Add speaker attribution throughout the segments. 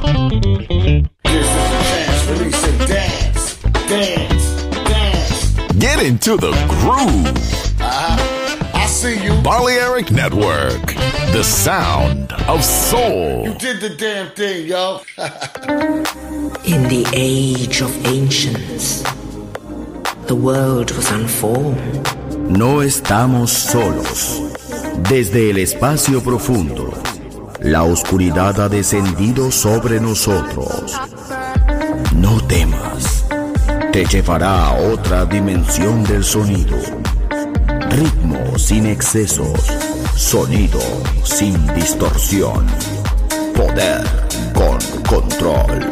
Speaker 1: Get into the groove.
Speaker 2: I see you.
Speaker 1: Balearic Network, the sound of soul.
Speaker 2: You did the damn thing, yo.
Speaker 3: In the age of ancients, the world was unformed.
Speaker 4: No estamos solos. Desde el espacio profundo, la oscuridad ha descendido sobre nosotros. No temas, te llevará a otra dimensión del sonido. Ritmo sin excesos, sonido sin distorsión, poder con control.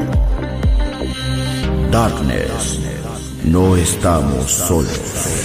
Speaker 4: Darkness, no estamos solos.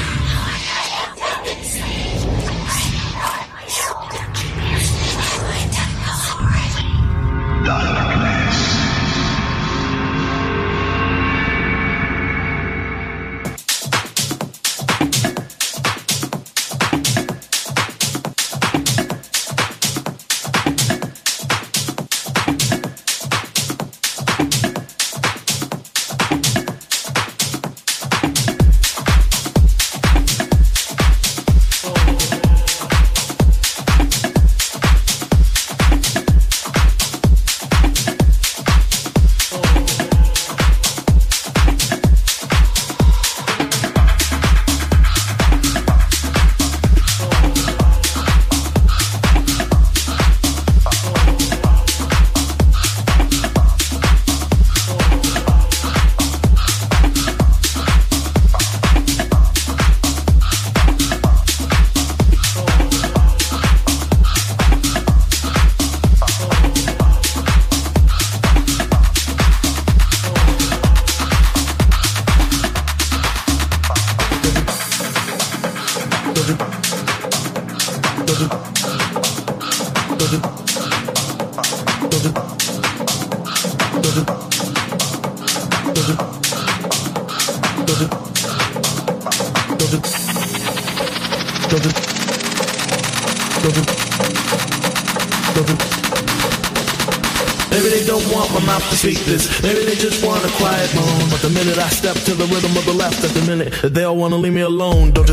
Speaker 5: Maybe they don't want my mouth to speak this. Maybe they just want a quiet moan. But the minute I step to the rhythm of the left, at the minute they all want to leave me alone. Don't you?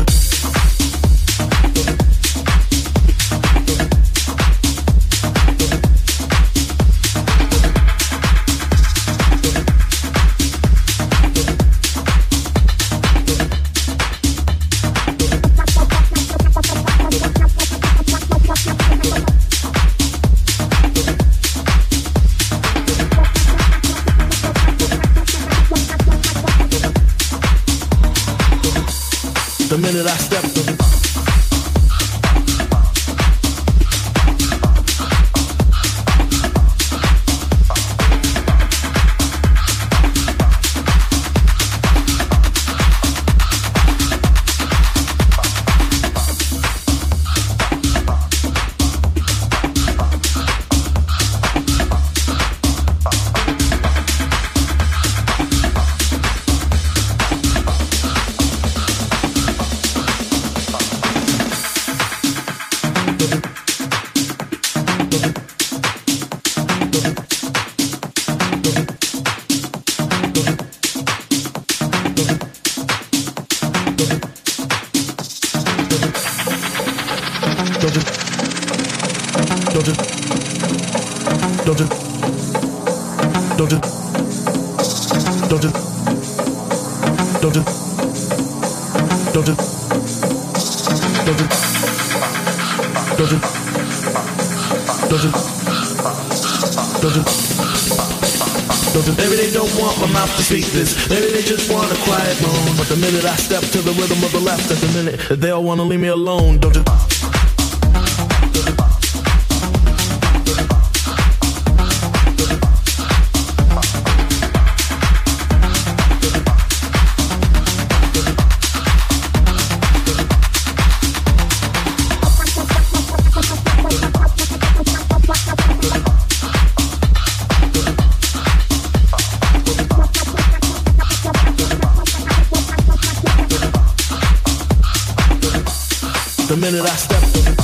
Speaker 5: The minute I step to the Maybe they don't want my mouth to speak this. Maybe they just want a quiet moan. But the minute I step to the rhythm of the left, at the minute they all want to leave me alone. Don't you? The minute I step to the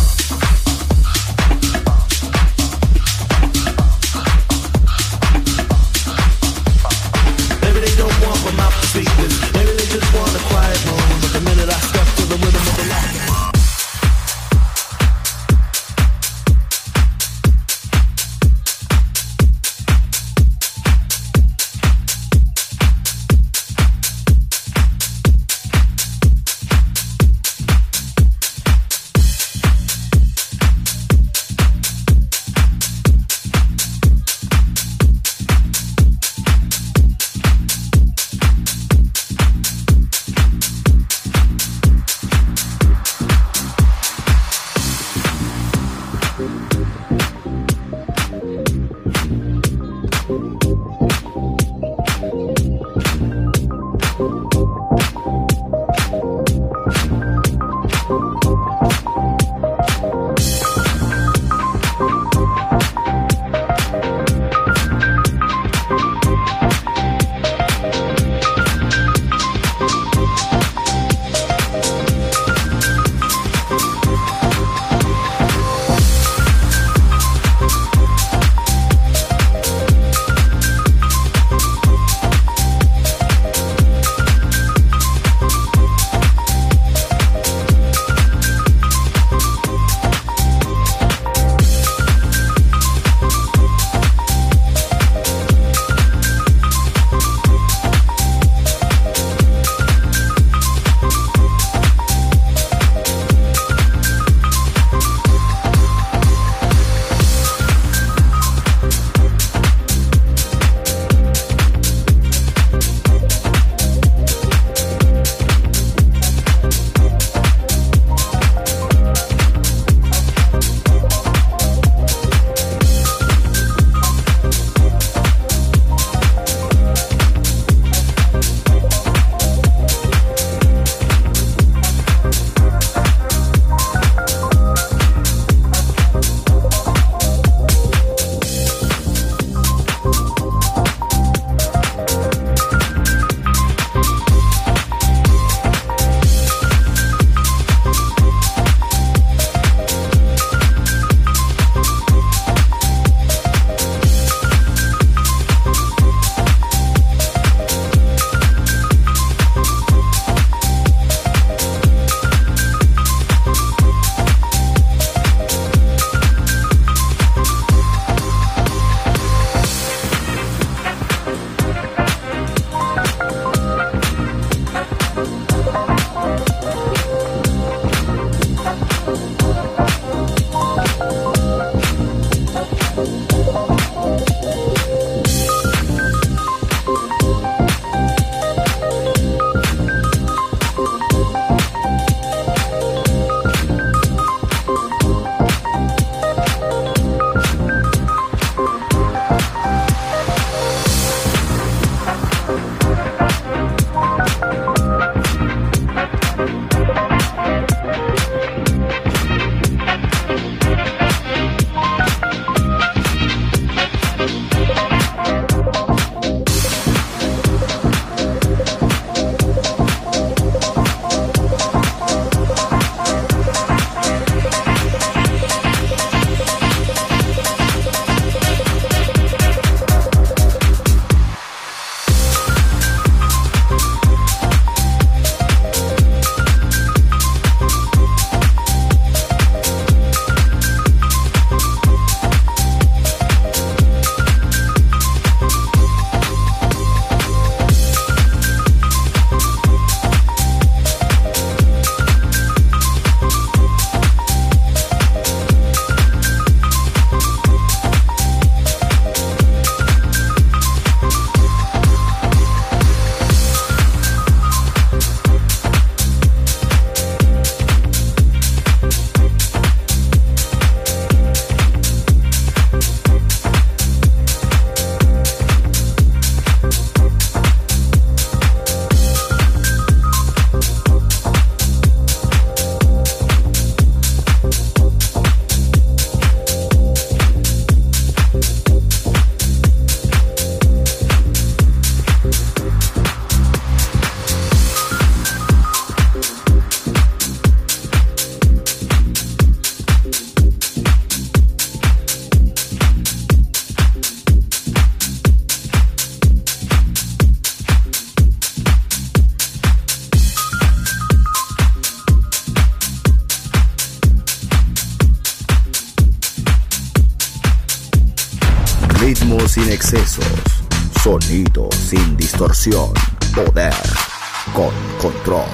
Speaker 4: Ritmo sin excesos, sonido sin distorsión, poder con control.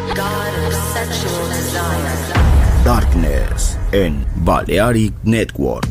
Speaker 4: Darkness en Balearic Network.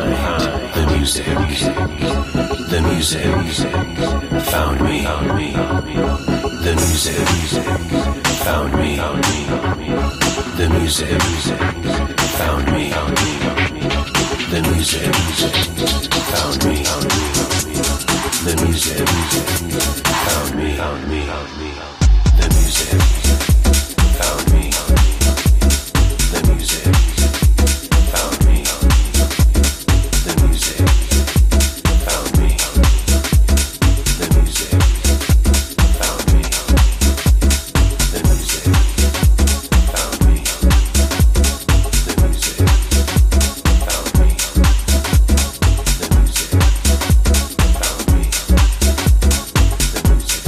Speaker 6: the music found me. The music found me. The music found me. The music found me. The music found me. The music found me. The music found me. The music found me. The music found me. The music found me. The music found me. The music found me. The music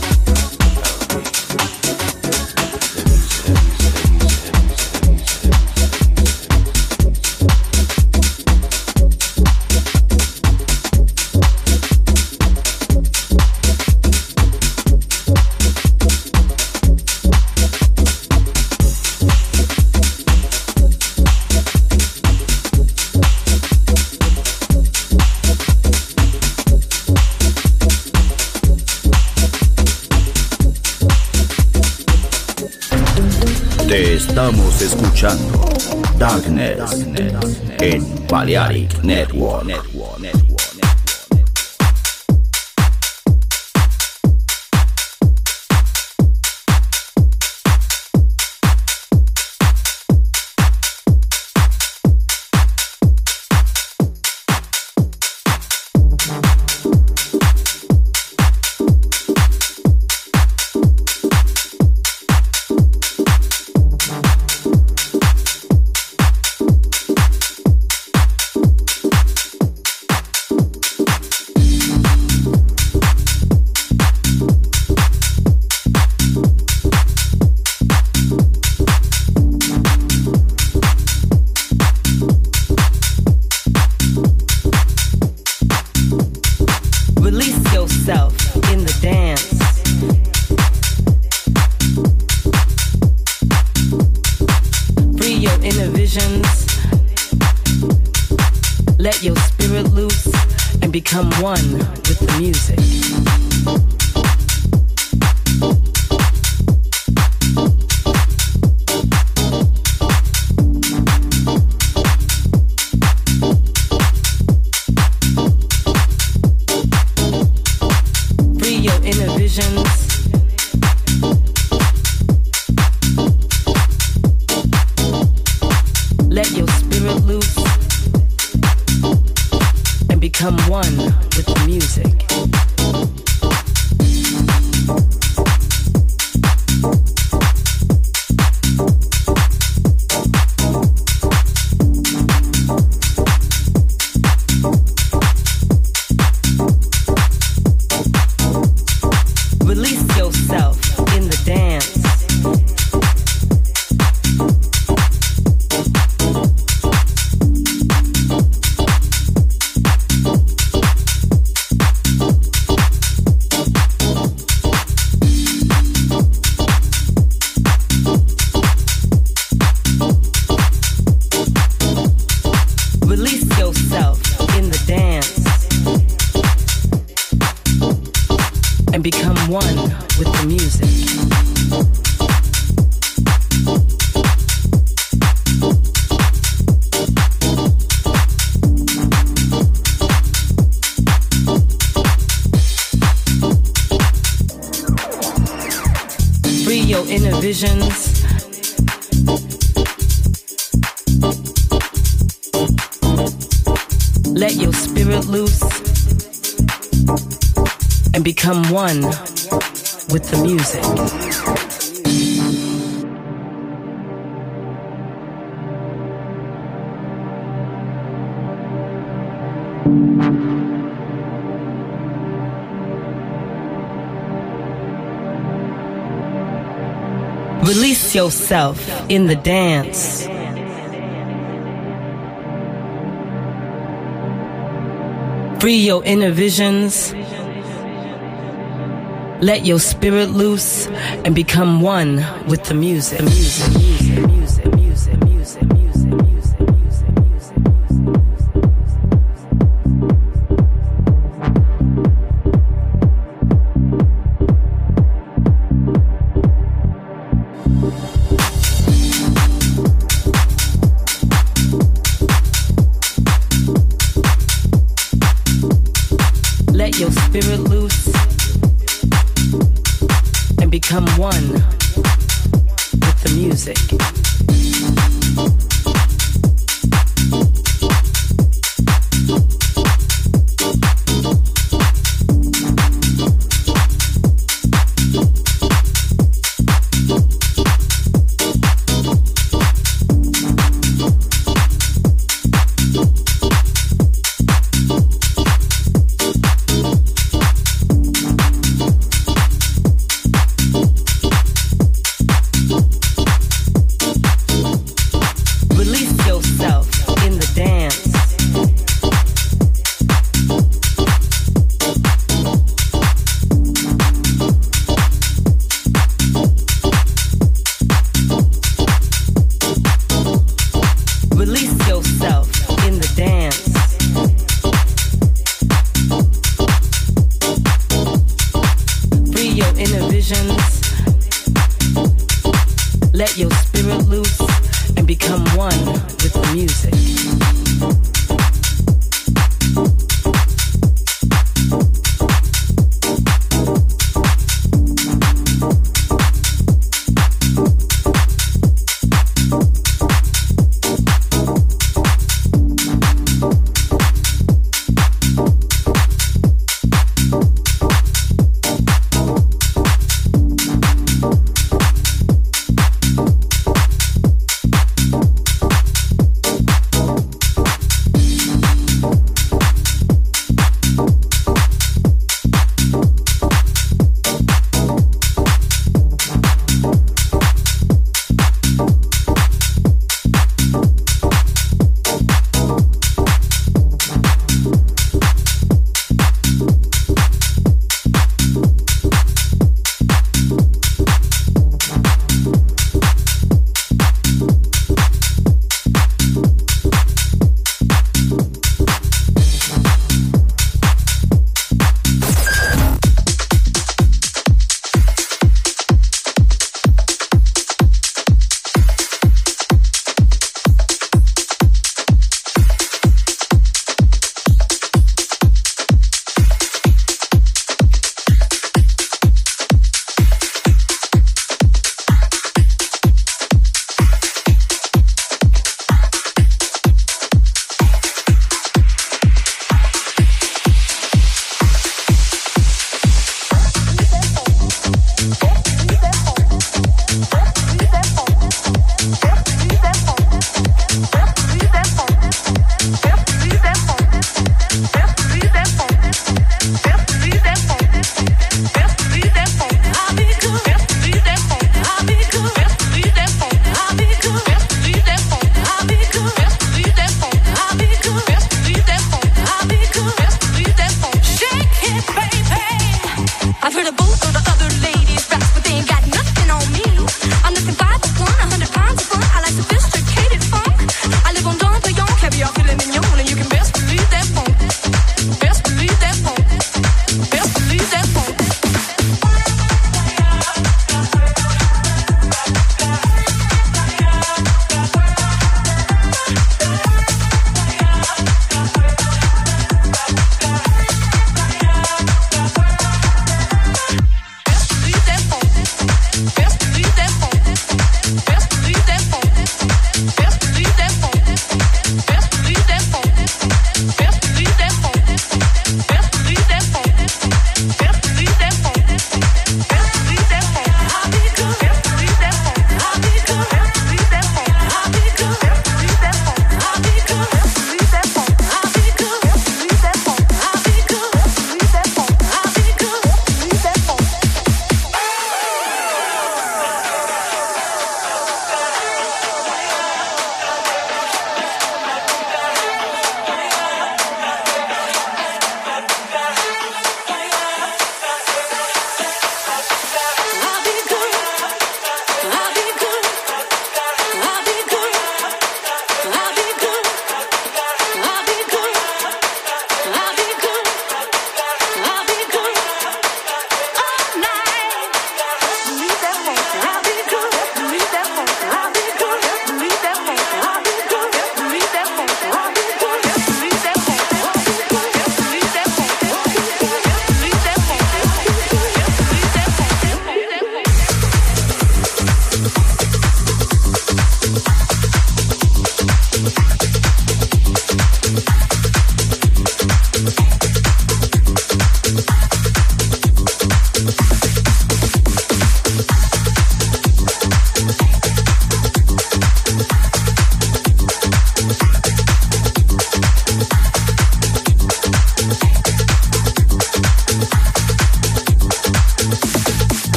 Speaker 4: Te estamos escuchando Darkness en Balearic Network.
Speaker 7: Let your spirit loose and become one with the music. Free your inner visions. Let your spirit loose and become one with the music. Release yourself in the dance. Release yourself in the dance and become one with the music. Free your inner visions. Let your spirit loose and become one with the music. Release yourself in the dance. Free your inner visions. Let your spirit loose and become one with the music. Music. Let your spirit loose and become one with the music.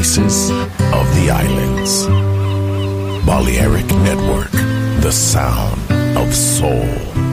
Speaker 1: voices of the islands. Balearic Network, the sound of soul.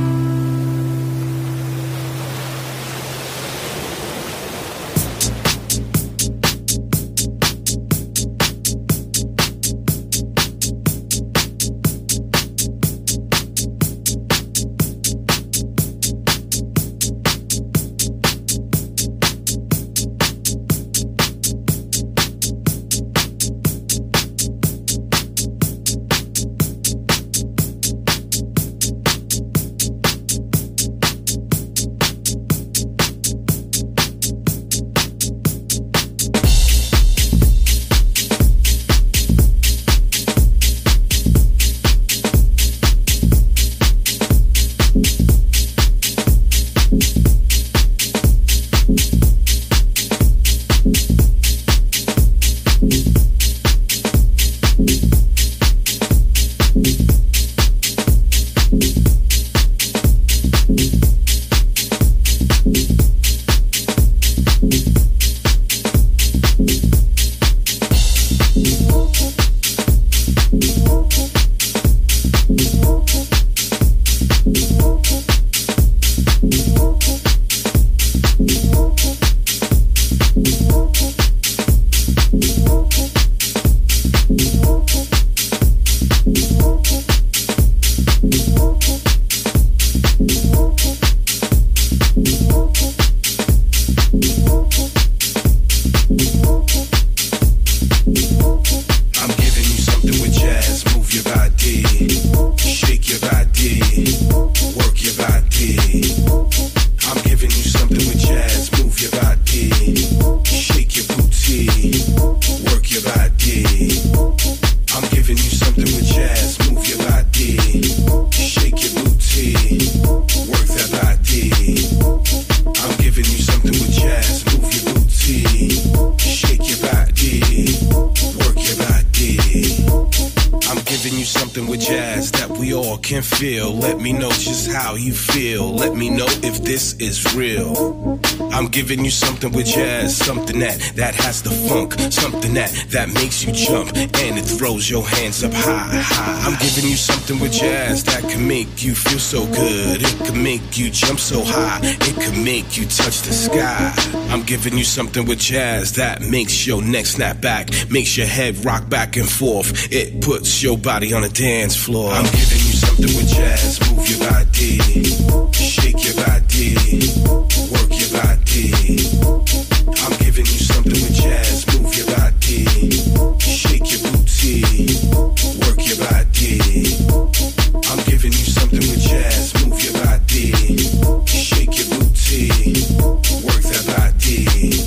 Speaker 8: Is real. I'm giving you something with jazz, something that has the funk, something that makes you jump and it throws your hands up high. I'm giving you something with jazz that can make you feel so good. It can make you jump so high. It can make you touch the sky. I'm giving you something with jazz that makes your neck snap back, makes your head rock back and forth. It puts your body on a dance floor. I'm giving you something with jazz. Move your body, shake your body, work your body. I'm giving you something with jazz. Move your body, shake your booty, work your body. I'm giving you something with jazz. Move your body, shake your booty, work that body.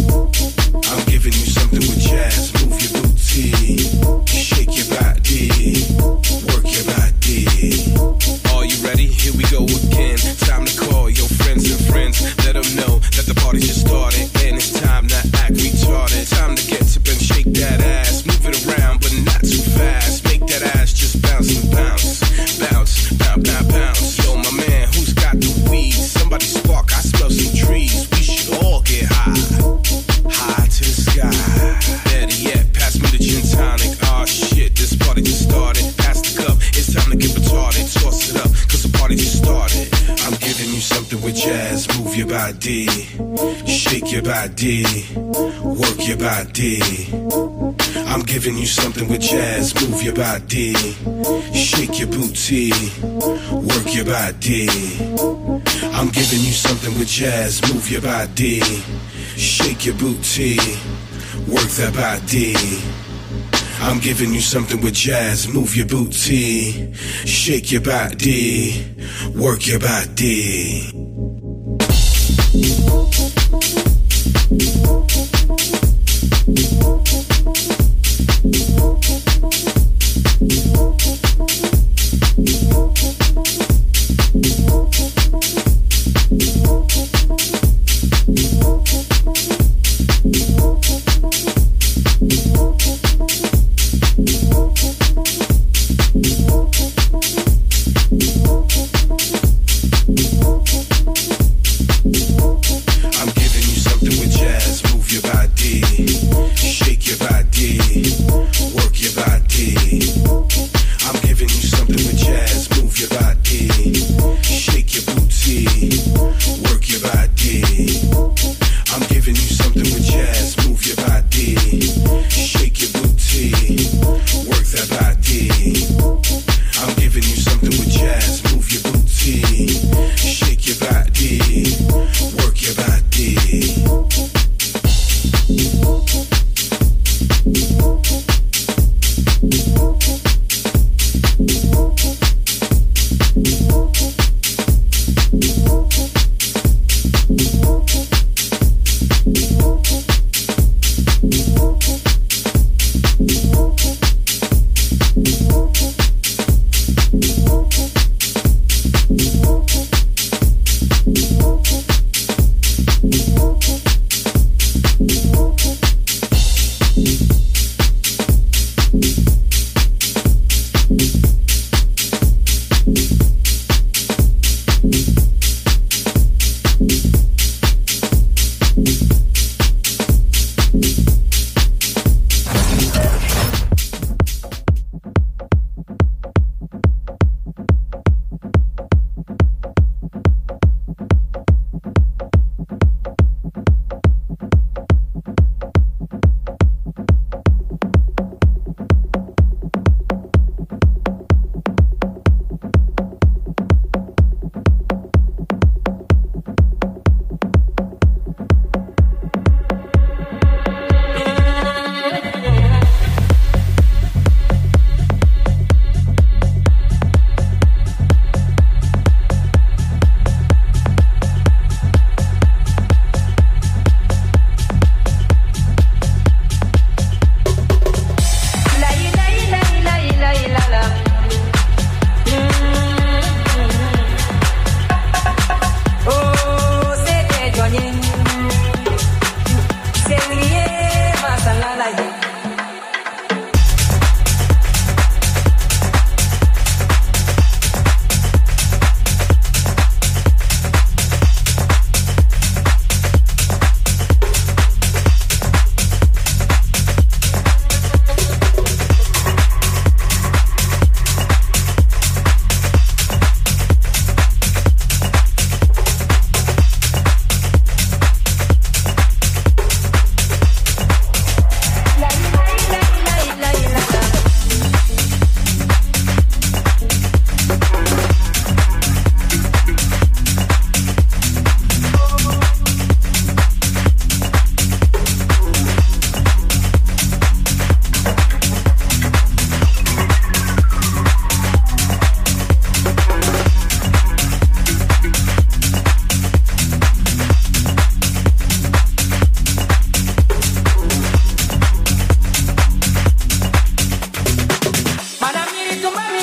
Speaker 8: I'm giving you something with jazz. Move your booty, shake your body, work your body. Are you ready? Here we go again. Time to call your friends and friends. Let them know that the party just started and it's time to act retarded. Time to get up and shake that ass. Move it around but not too fast. Make that ass just bounce and bounce. Bounce, bounce, bounce, bounce. Yo, my man, who's got the weed? Somebody spark, I smell some trees. We should all get high. High to the sky. Better yet, pass me the gin tonic. Oh shit, this party just started. Pass the cup, it's time to get retarded. Toss it up, cause the party just started. I'm giving you something with jazz. Move your body, shake your body, work your body. I'm giving you something with jazz. Move your body, shake your booty, work your body. I'm giving you something with jazz. Move your body, shake your booty, work that body. I'm giving you something with jazz. Move your booty, shake your body, work your body.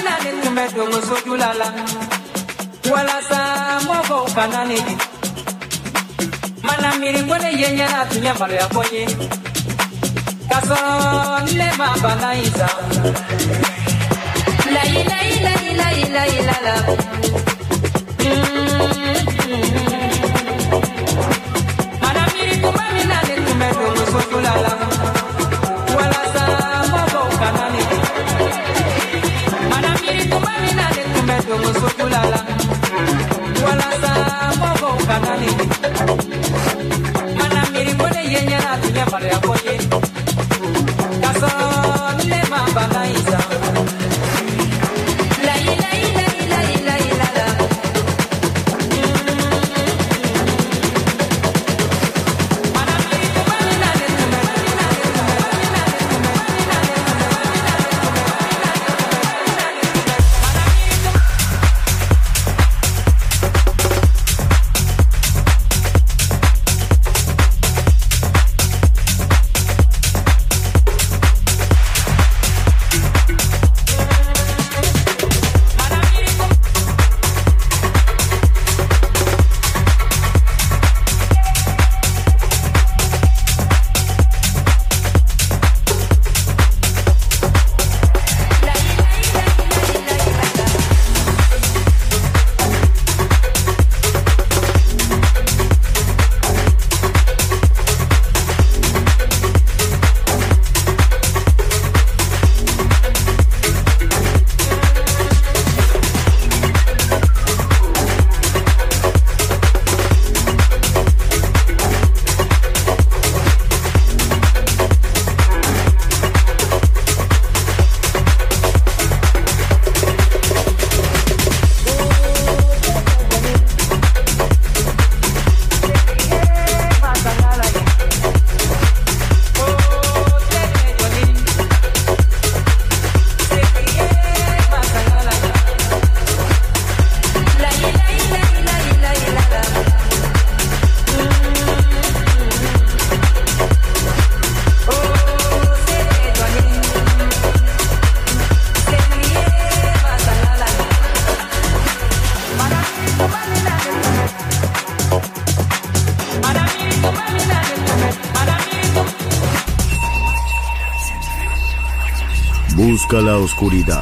Speaker 4: Busca la oscuridad.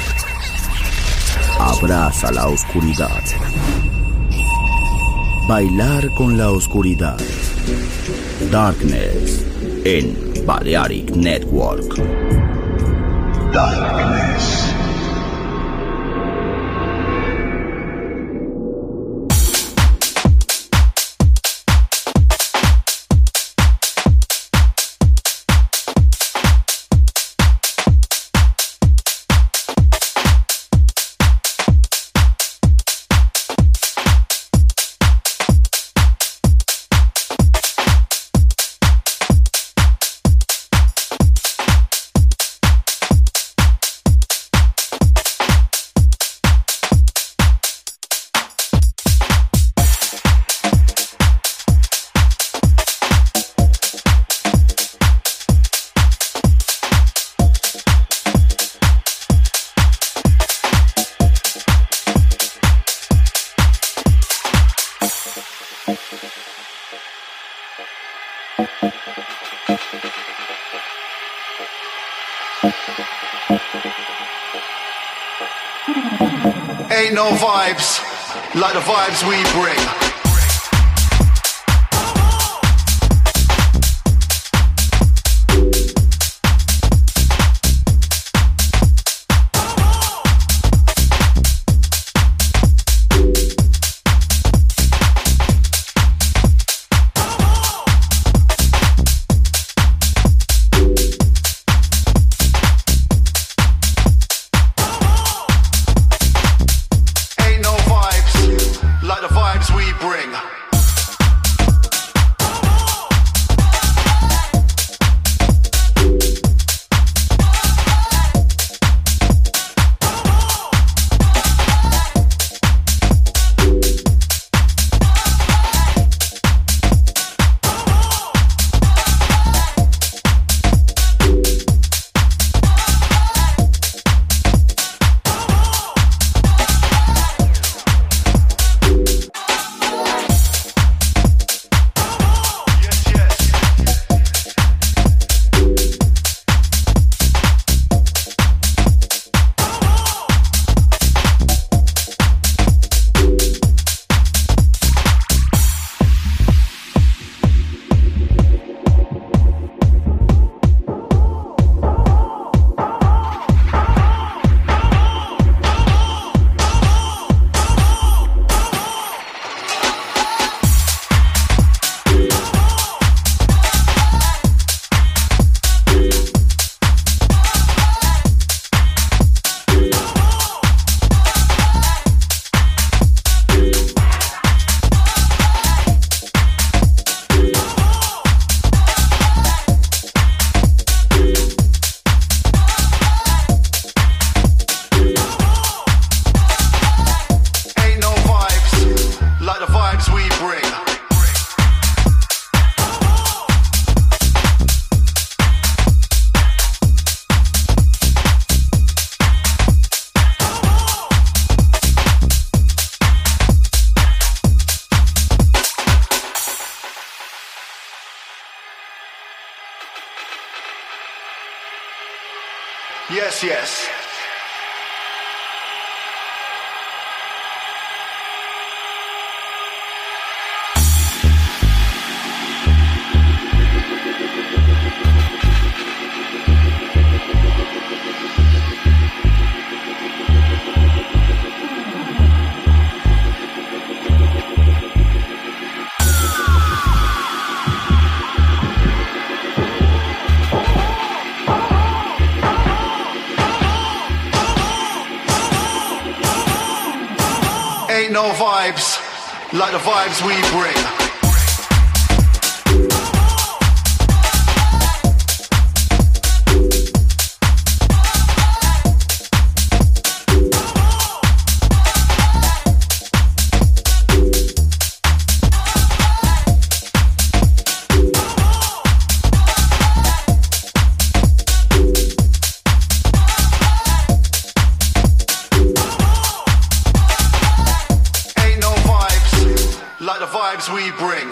Speaker 4: Abraza la oscuridad. Bailar con la oscuridad. Darkness en Balearic Network. Darkness.
Speaker 9: Ain't no vibes like the vibes we bring. Ain't no vibes like the vibes we bring. Yes, yes. Ain't no vibes like the vibes we bring. Like the vibes we bring.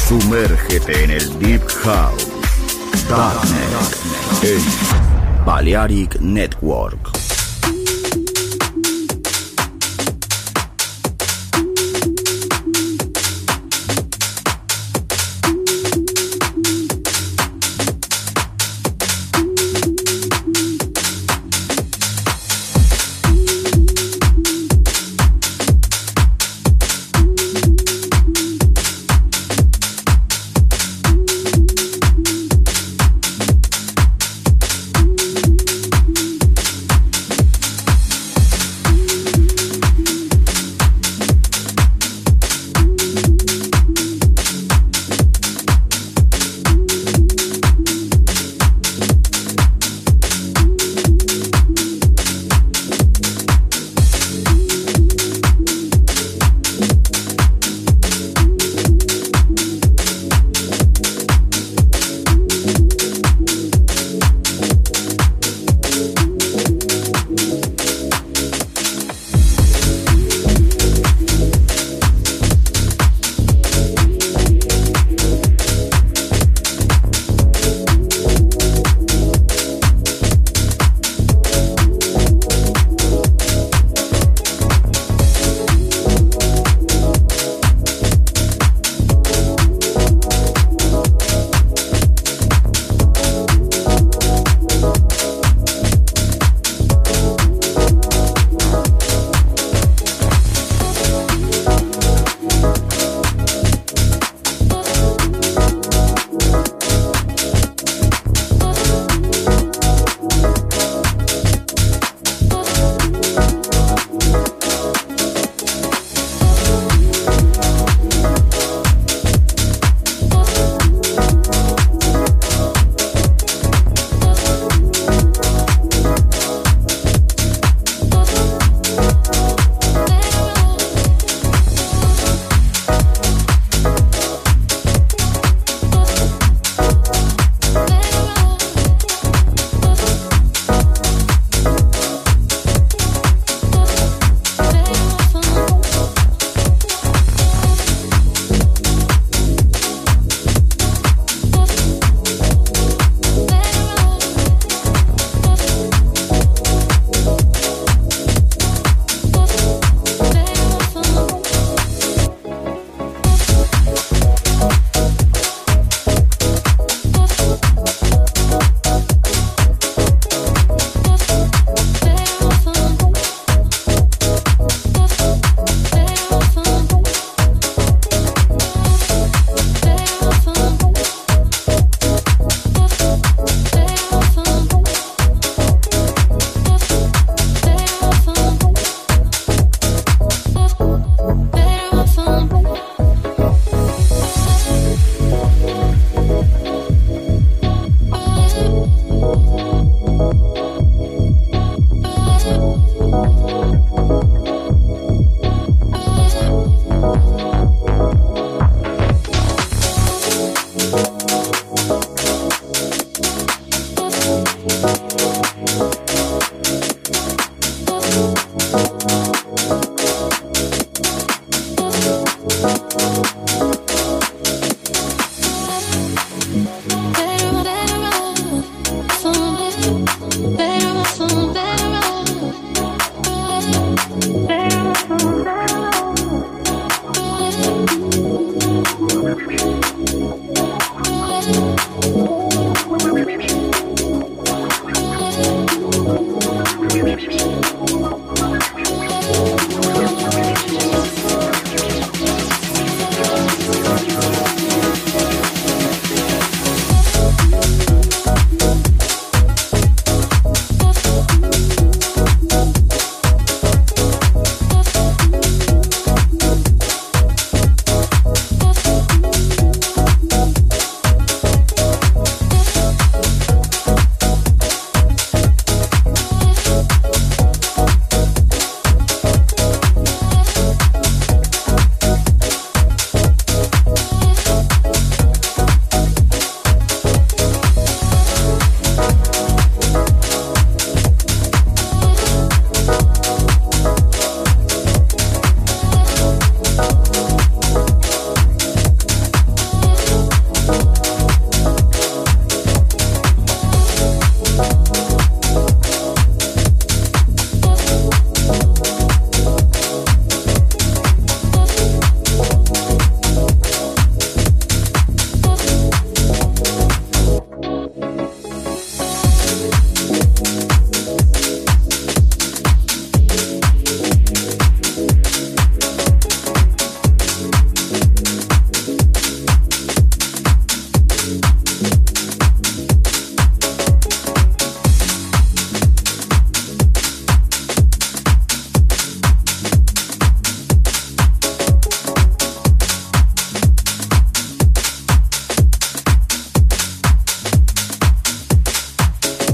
Speaker 4: Sumérgete en el Deep House. Darknet en Balearic Network.